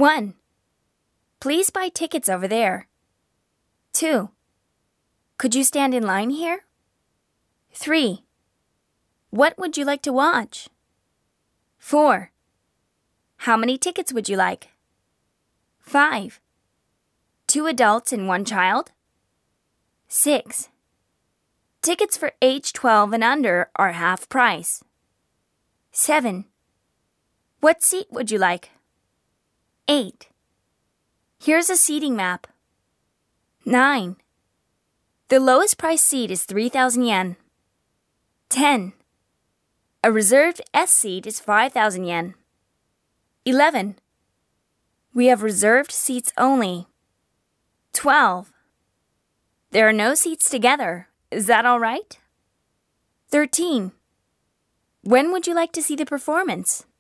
1. Please buy tickets over there. 2. Could you stand in line here? 3. What would you like to watch? 4. How many tickets would you like? 5. 2 adults and 1 child? 6. Tickets for age 12 and under are half price. 7. What seat would you like? 8. Here's a seating map. 9. The lowest price seat is 3,000 yen. 10. A reserved S seat is 5,000 yen. 11. We have reserved seats only. 12. There are no seats together. Is that all right? 13. When would you like to see the performance?